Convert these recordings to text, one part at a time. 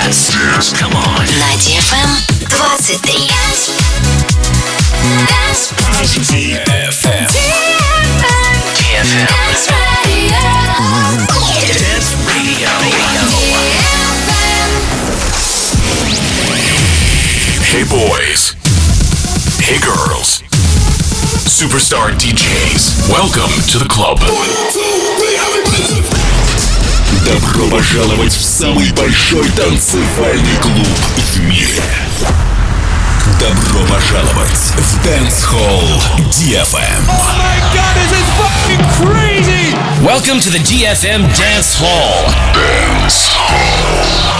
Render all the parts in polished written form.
Come on. На DFM 23. DFM. Dance Radio. Hey boys. Hey girls. Superstar DJs. Welcome to the club. Добро пожаловать в самый большой танцевальный клуб в мире. Добро пожаловать в Dance Hall DFM. Oh my God, this is fucking crazy! Welcome to the DFM Dance Hall. Dance Hall.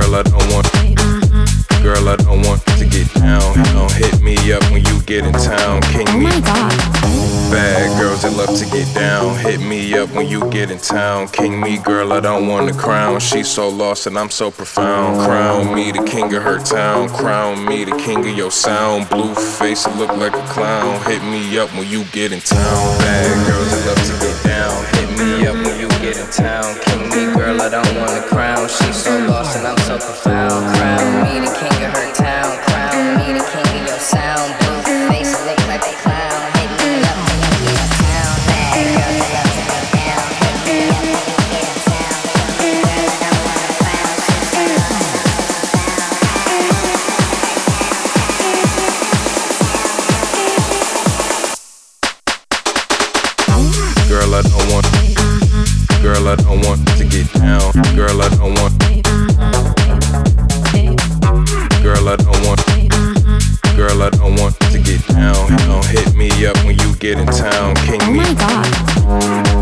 Girl, I don't want. Girl, I don't want to get down. Don't hit me up when you get in town. King Oh my god. Bad girls that love to get down. Hit me up when you get in town. King me, girl, I don't want a crown. She's so lost and I'm so profound. Crown me the king of her town. Crown me the king of your sound. Blue face, I look like a clown. Hit me up when you get in town. Bad girls that love to get down. Hit me up when you get in town. King me, girl, I don't want a crown. She's so lost and I'm so profound. Crown me the king of her town. Crown me the king of your sound. Blue face, I look like a clown. Hit me up when you get in town. Bad girls that love to get down. Hit me up when you get in town. Girl, I don't want a crown. She's so lost. Girl, I don't want. Girl, I don't want to get down. Girl, I don't want. Girl, I don't want. Girl, I don't want to get down. Don't hit me up when you get in town. King me. Oh my god.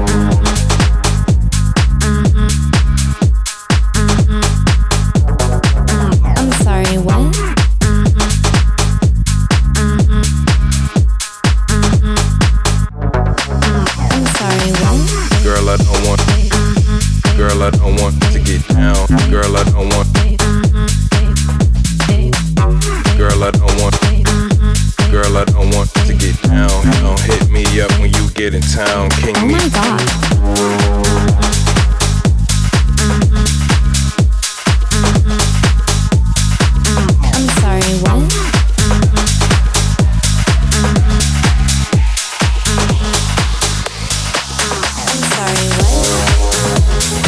I'm sorry, what? I'm sorry, what? Girl, I don't want. Girl, I don't want to get down. Girl, I don't want. Girl, I don't want. Girl, I don't want to get down. Don't hit me up when you get in town. King Oh me. my god. I'm sorry, what? I'm sorry, what?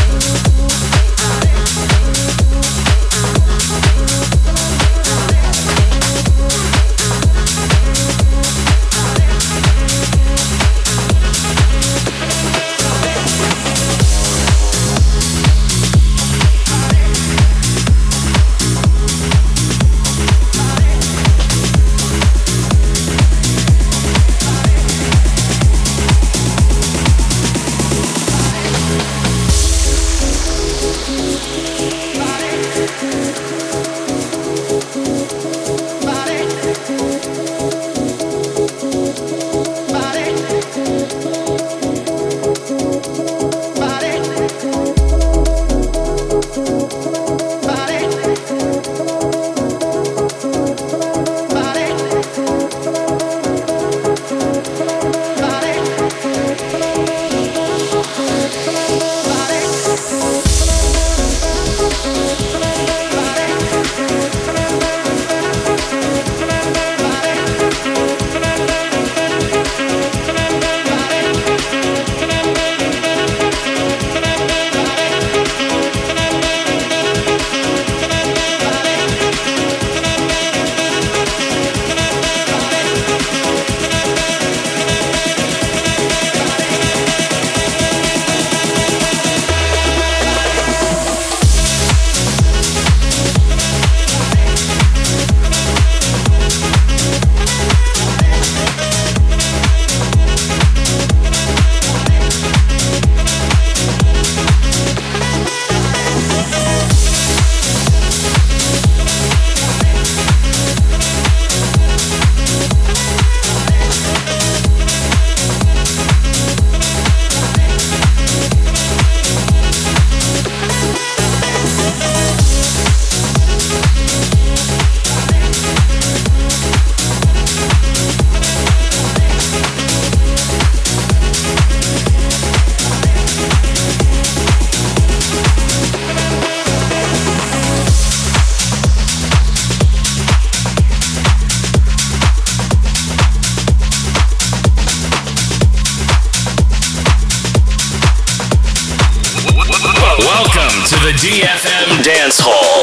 to the DFM Dance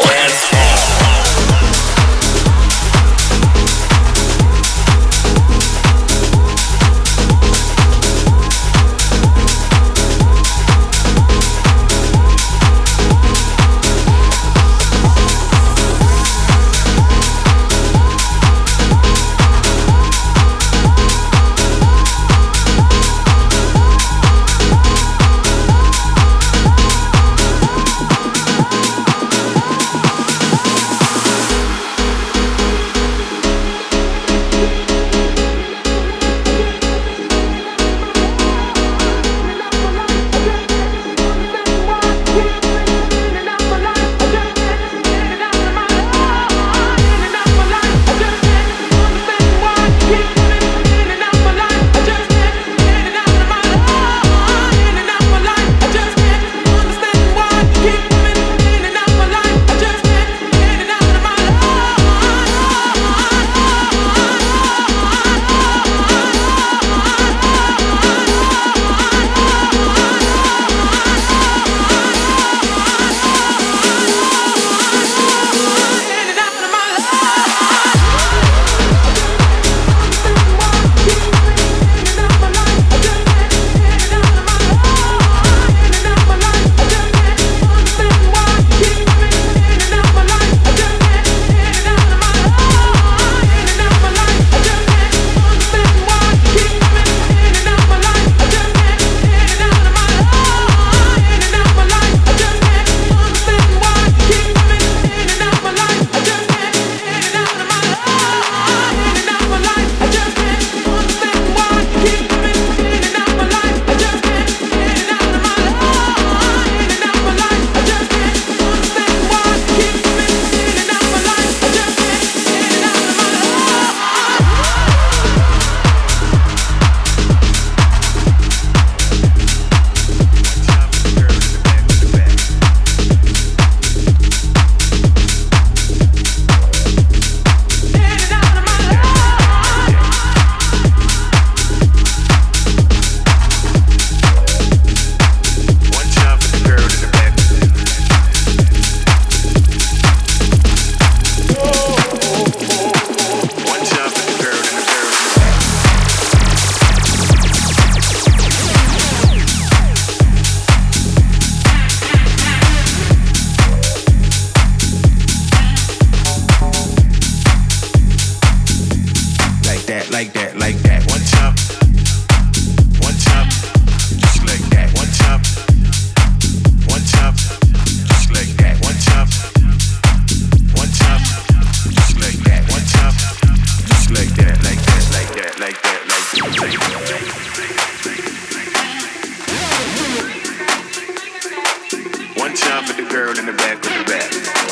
Hall. time for the girl in the back of the back.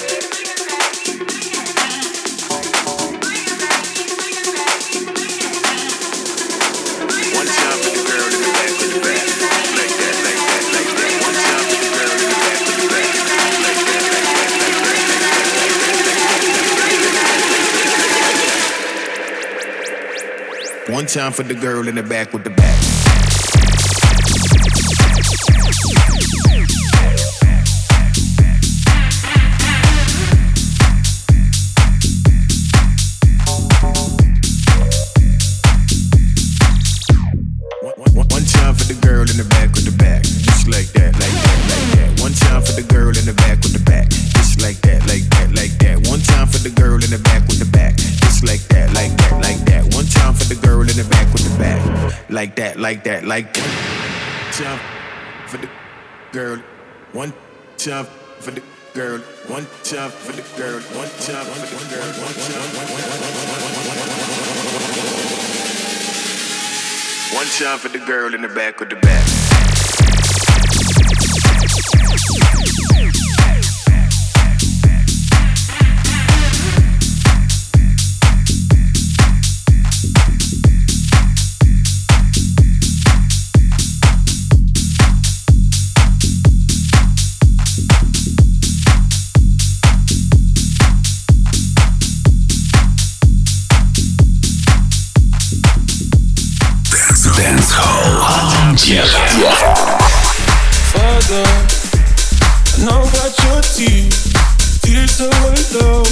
One time for the girl in the back of the back. Like that, like that, like that. One time for the girl in the back of the back. Like that, like that, like that. One time for the girl in the back with the back. One time for the girl in the back with the back, just like that, like that, like that. One time for the girl in the back with the back, just like that, like that, like that. One time for the girl in the back with the back, just like that, like that, like that. One time for the girl in the back with the back, like that, like that, like that. Time for the girl, one time for the girl, one time for the girl, one time for the girl, one time. One time for the girl in the back with the back. Father, I know about your tears so low.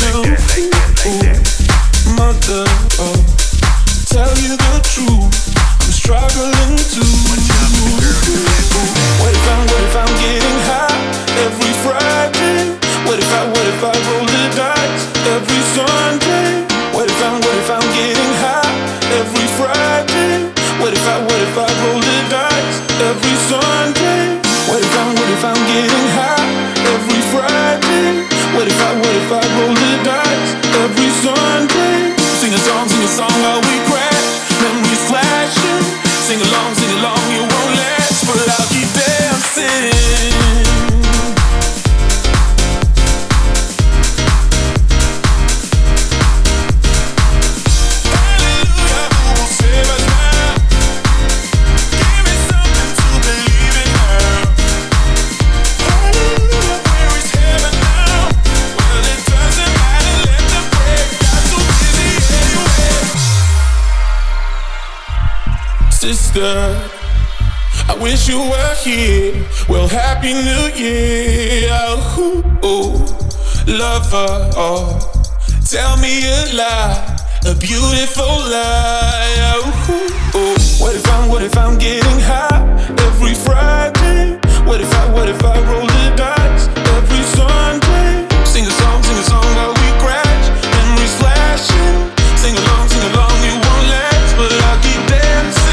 Mother, tell you the truth, I'm struggling too. What if I'm getting high every Friday? What if I roll the dice every Sunday? What if I'm getting high every Friday? What if I roll the dice every Sunday? What if I'm getting high every Friday? What if I roll the dice every Sunday? Sing a song while we crash, memories flashing. Sing along, you won't last, but I'll keep dancing. Sister, I wish you were here. Well, Happy New Year. Ooh, lover, tell me a lie, a beautiful lie. Ooh, what if I'm getting high every Friday? What if I roll the dice every Sunday? Sing a song while we crash, memories flashing. Sing along, you won't last, but I'll keep dancing.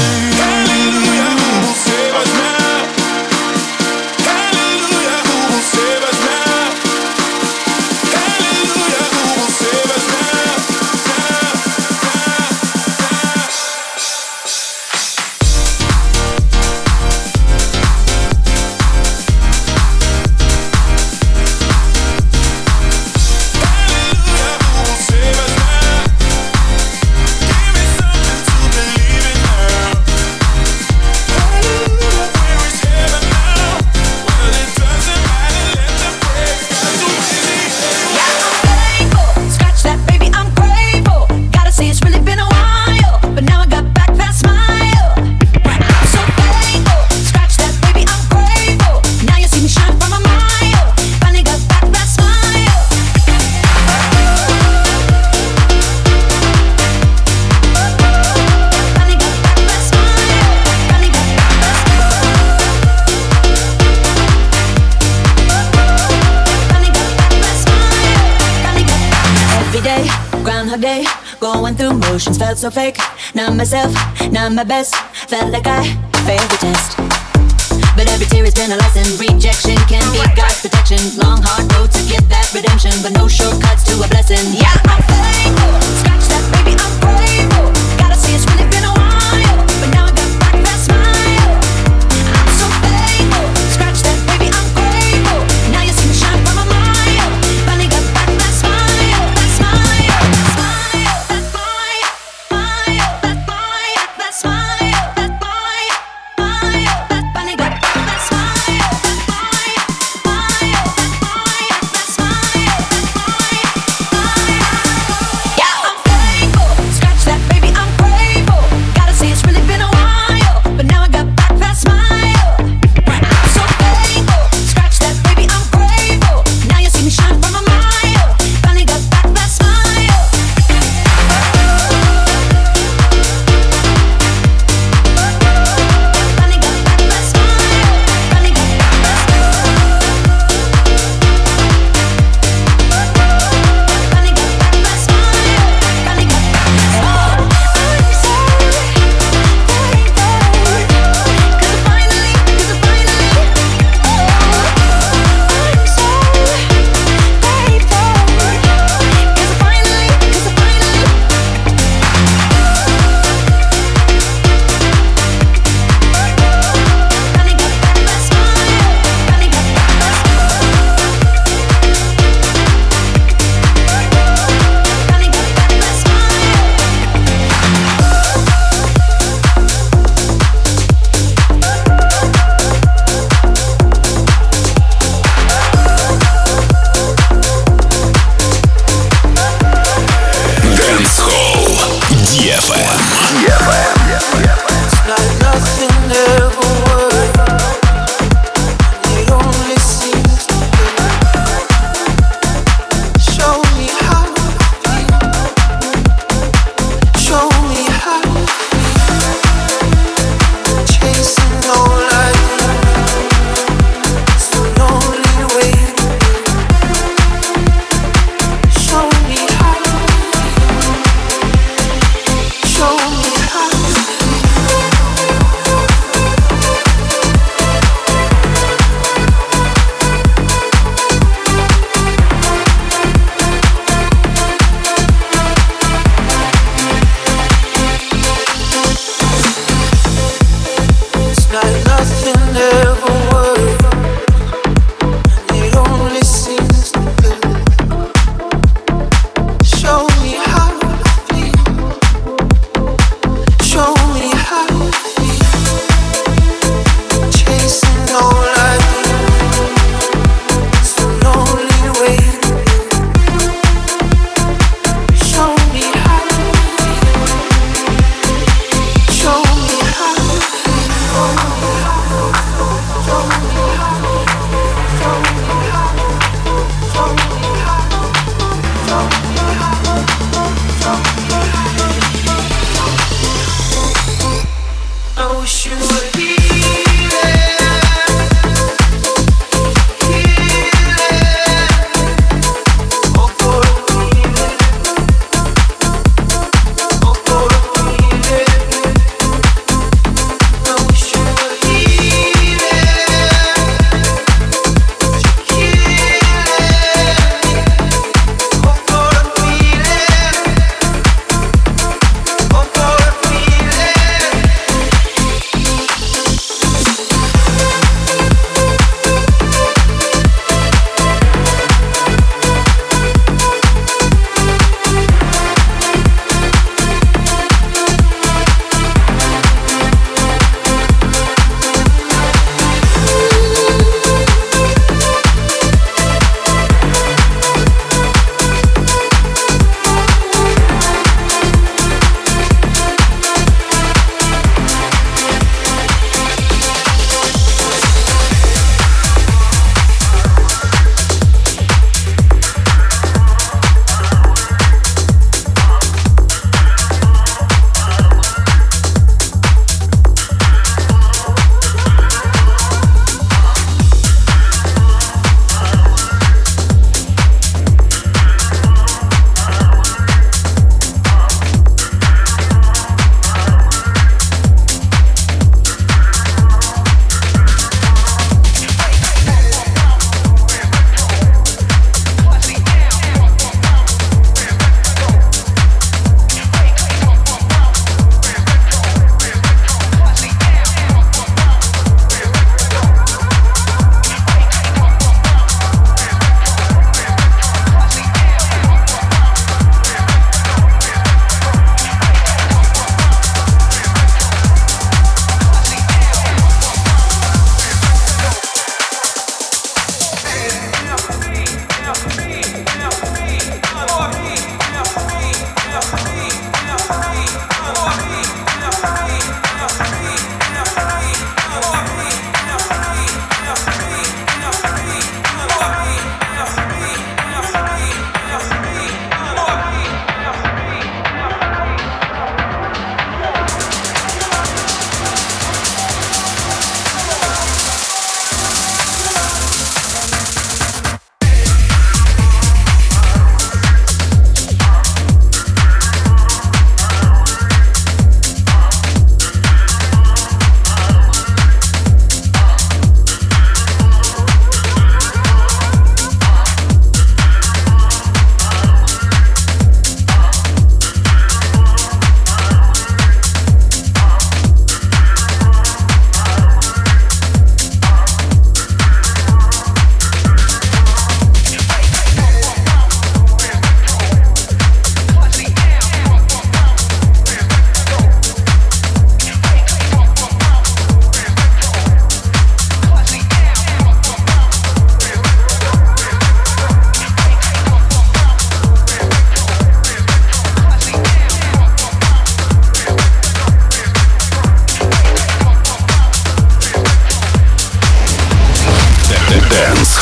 Day, going through motions, felt so fake. Not myself, not my best. Felt like I failed the test. But every tear has been a lesson. Rejection can be God's protection. Long hard road to get that redemption, but no shortcuts to a blessing. Yeah, I'm faithful. Scratch that, baby, I'm grateful. Gotta say it's really been a while, but now I got back that smile. I'm so faithful. Scratch that, baby, I'm grateful.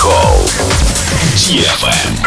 Hall. DFM.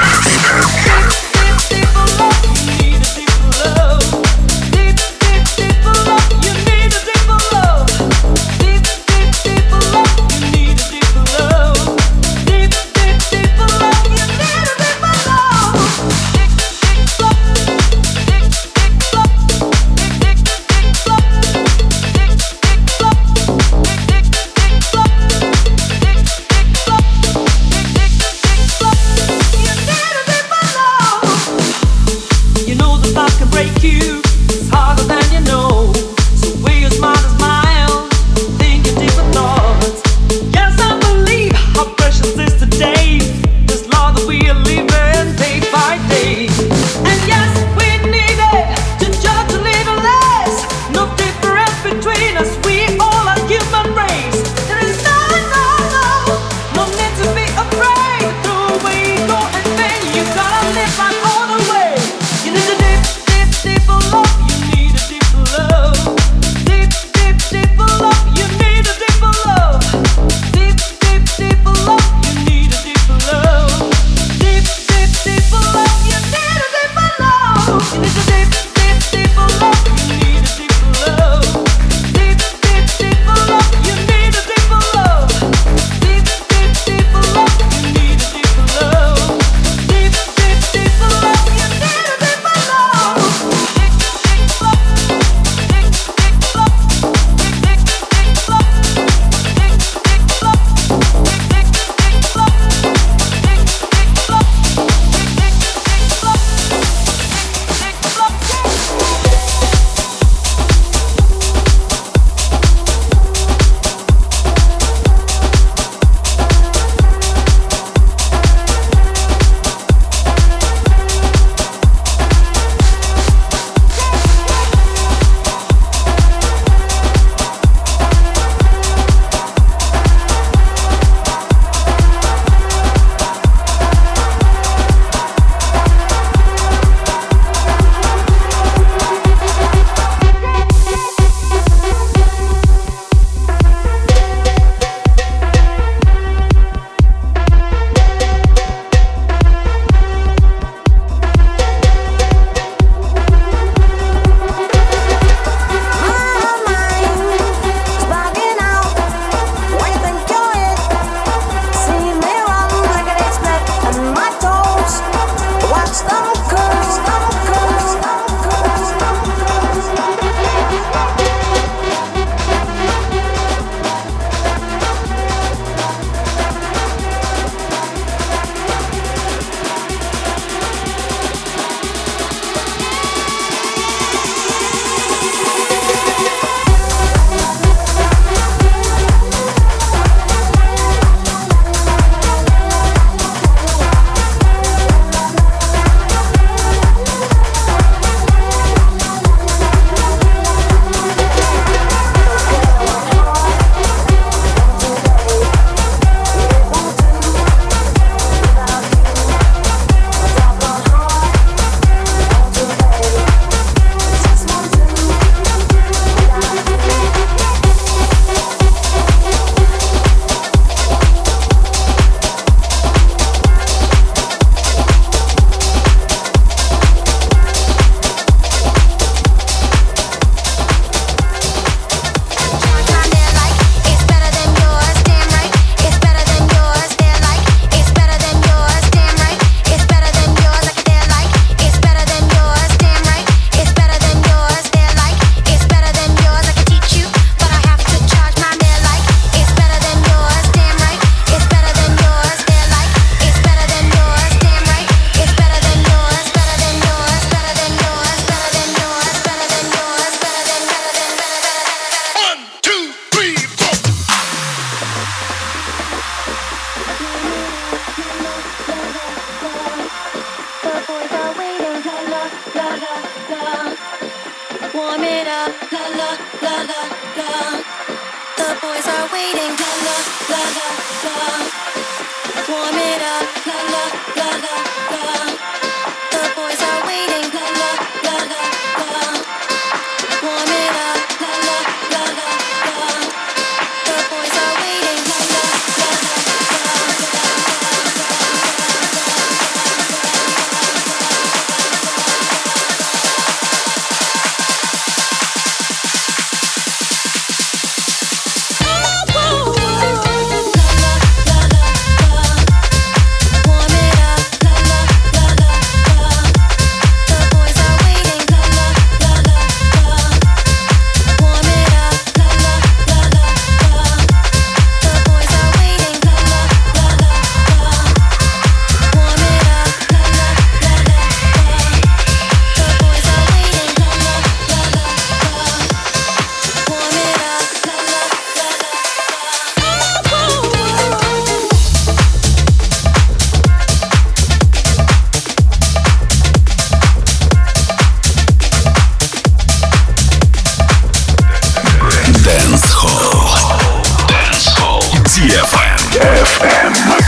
DFM.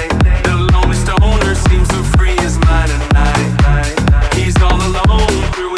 Through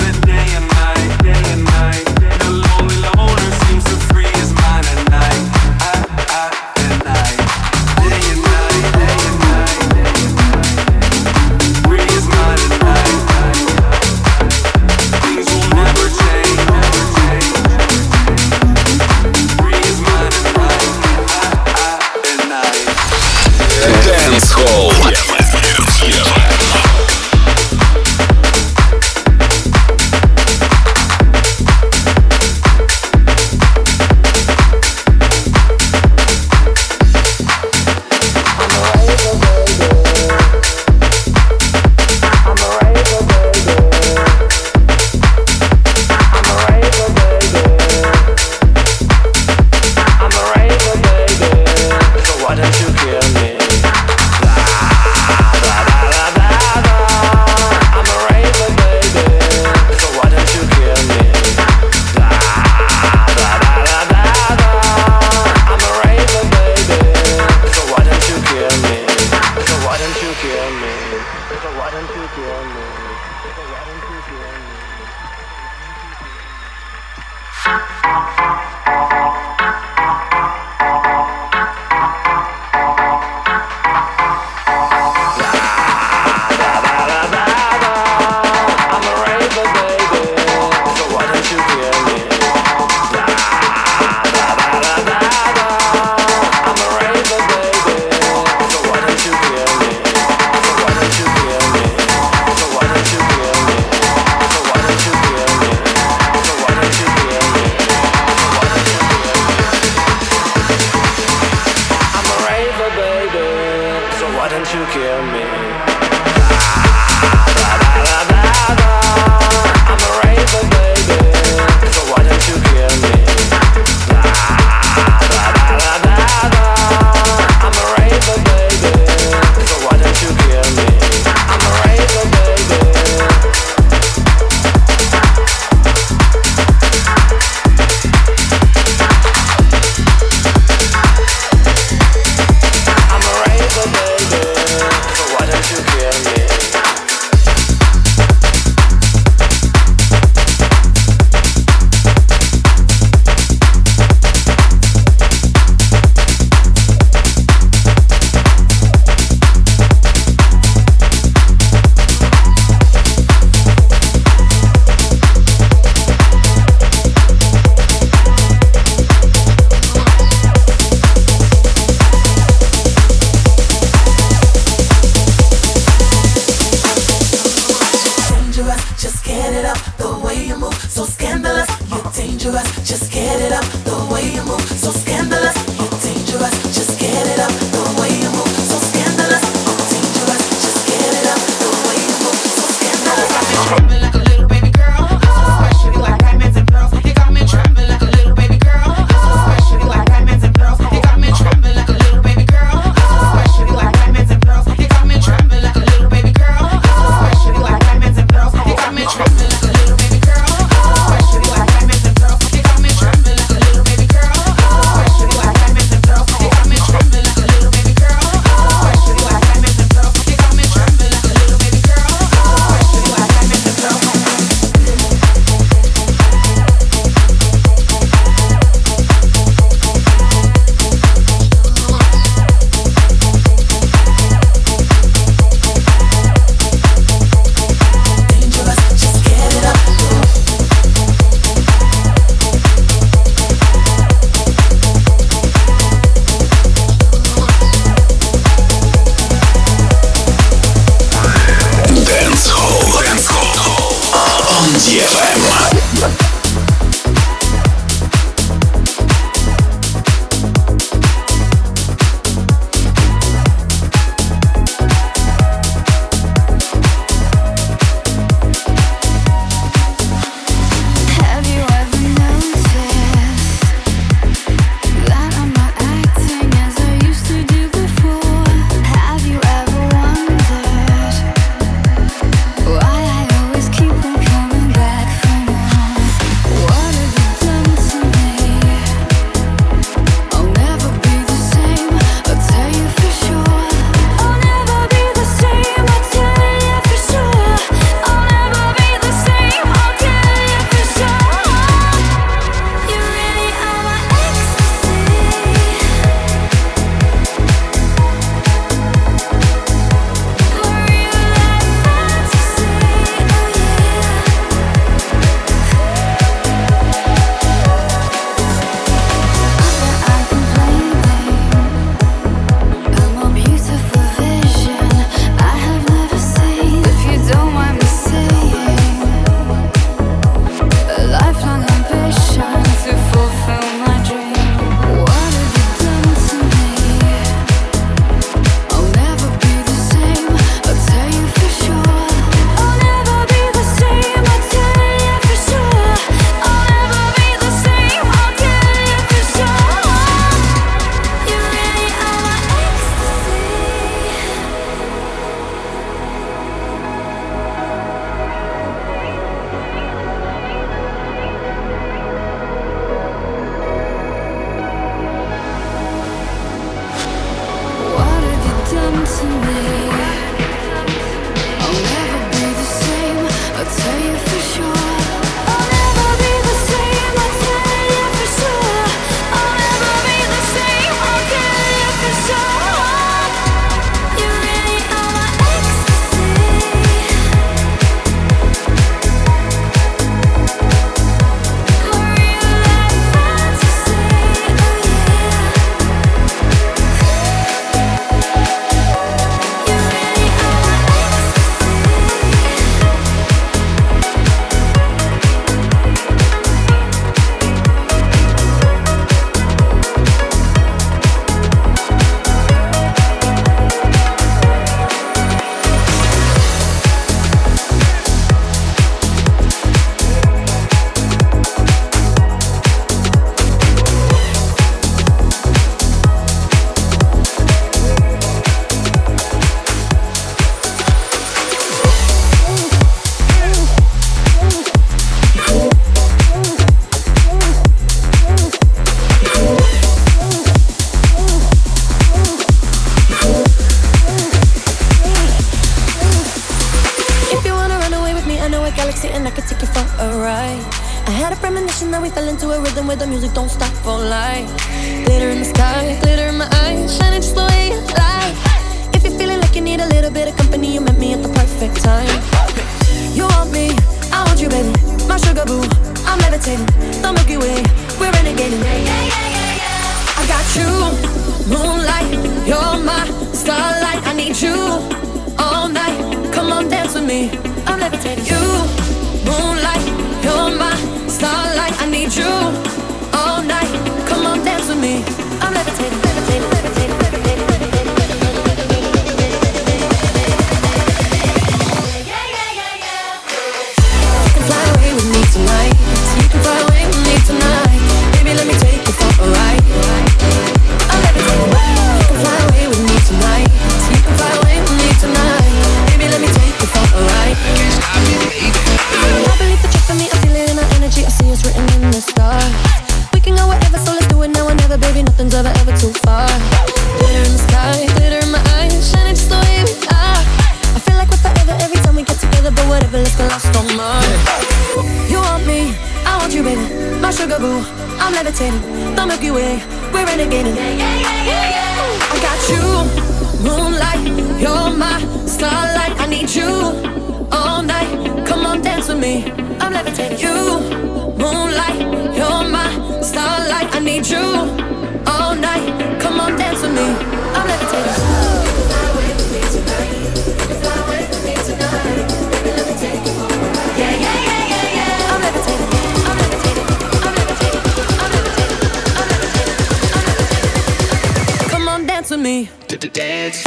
let's get lost on Mars. You want me, I want you, baby. My sugar boo, I'm levitating. The Milky Way, we're renegading. I got you, moonlight. You're my starlight. I need you all night. Come on, dance with me. I'm levitating. You, moonlight. You're my starlight. I need you all night. Come on, dance with me. I'm levitating. Fly away with me tonight. Fly away with me tonight. Baby, let me take you for a ride. Yeah, yeah, yeah, yeah, yeah. I'm levitating. I'm levitating. I'm levitating. I'm levitating. I'm levitating. I'm levitating. Come on, dance with me. Dance.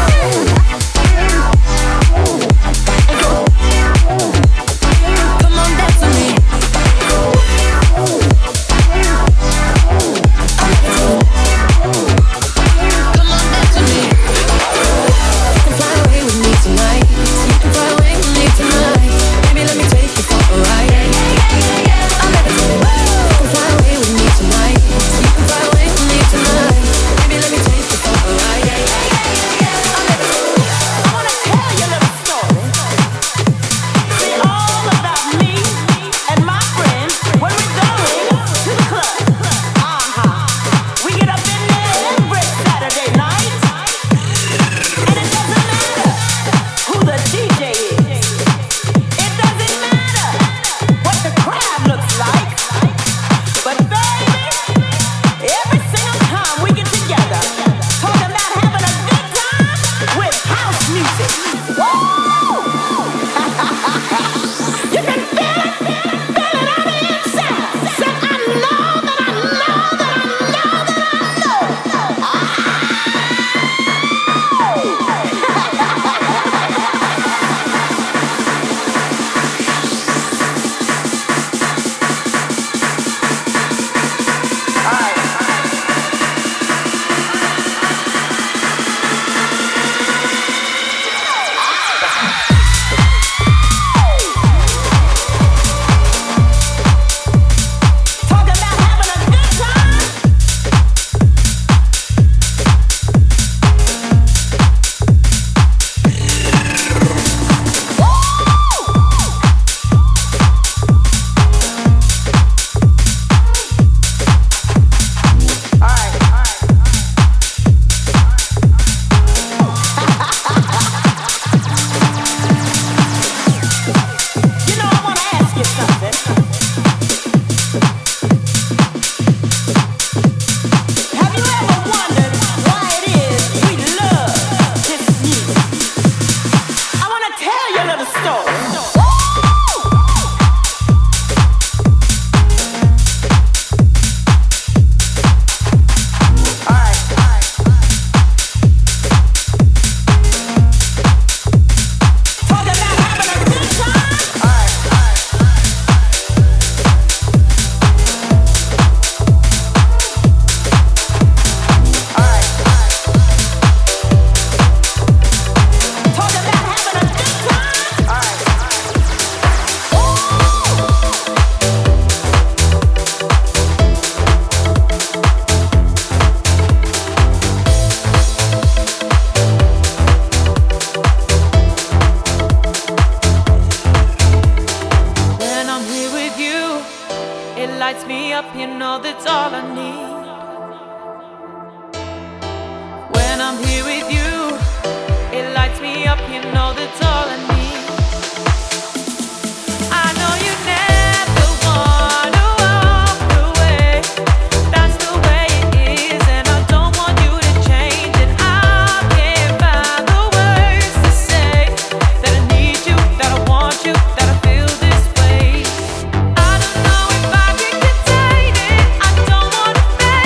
Come on, dance with me. Come on, dance with me. You can fly away with me tonight. You can fly away with me tonight. Baby, let me take you for a ride. I'm levitating. You can fly away with me tonight. You can fly away with me tonight. Baby, let me take you for a ride. I'm levitating. I wanna tell you a little story. It's all about me and my friends when we're going to the club. We get up in there every Saturday night, and it doesn't matter who the DJ is. It doesn't matter what the crowd looks like. But baby, every single time we get together, talking about having a good time with house music. Woo! You can feel it on the inside. Said I know that I know that I know that I know. Talking about having a good time. You know, I want to ask you something. Have you ever wondered why it is we love this music? I want to tell you a little story. Talking about having a good time. Talking about having a good time. When I'm here with you, it lights me up, you know that's all I need. When I'm here with you, it lights me up, you know that's all I need. I know you never wanna walk away. That's the way it is, and I don't want you to change it. I can't find the words to say that I need you, that I want you, that I feel this way. I don't know if I can contain it. I don't wanna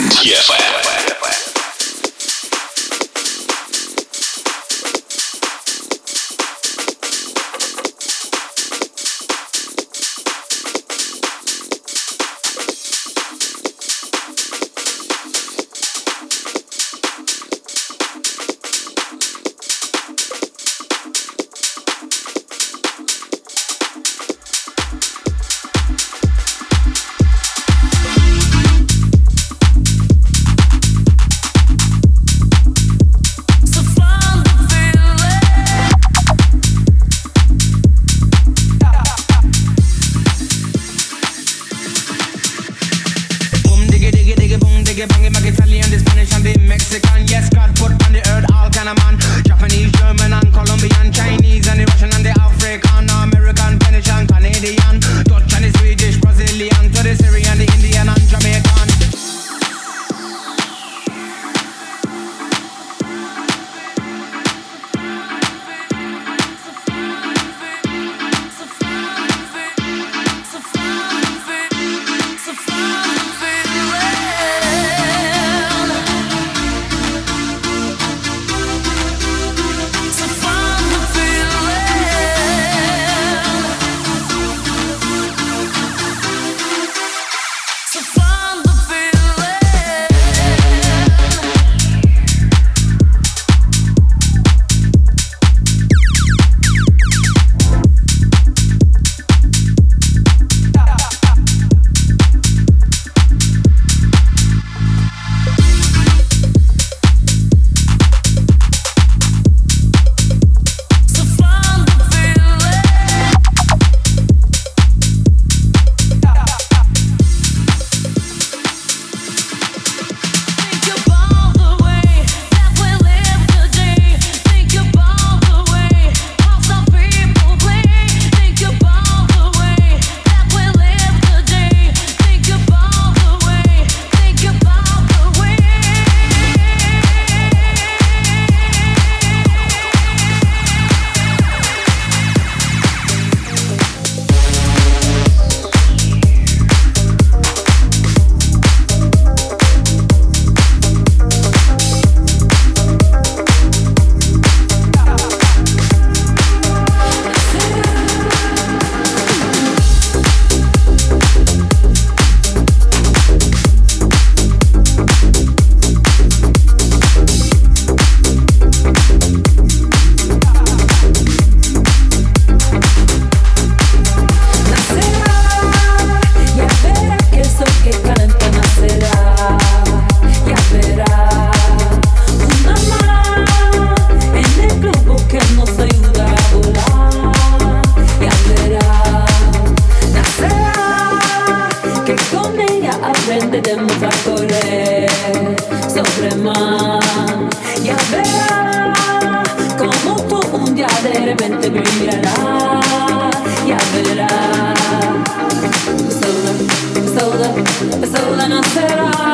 de repente brillará, ya verá. Sola nacerá.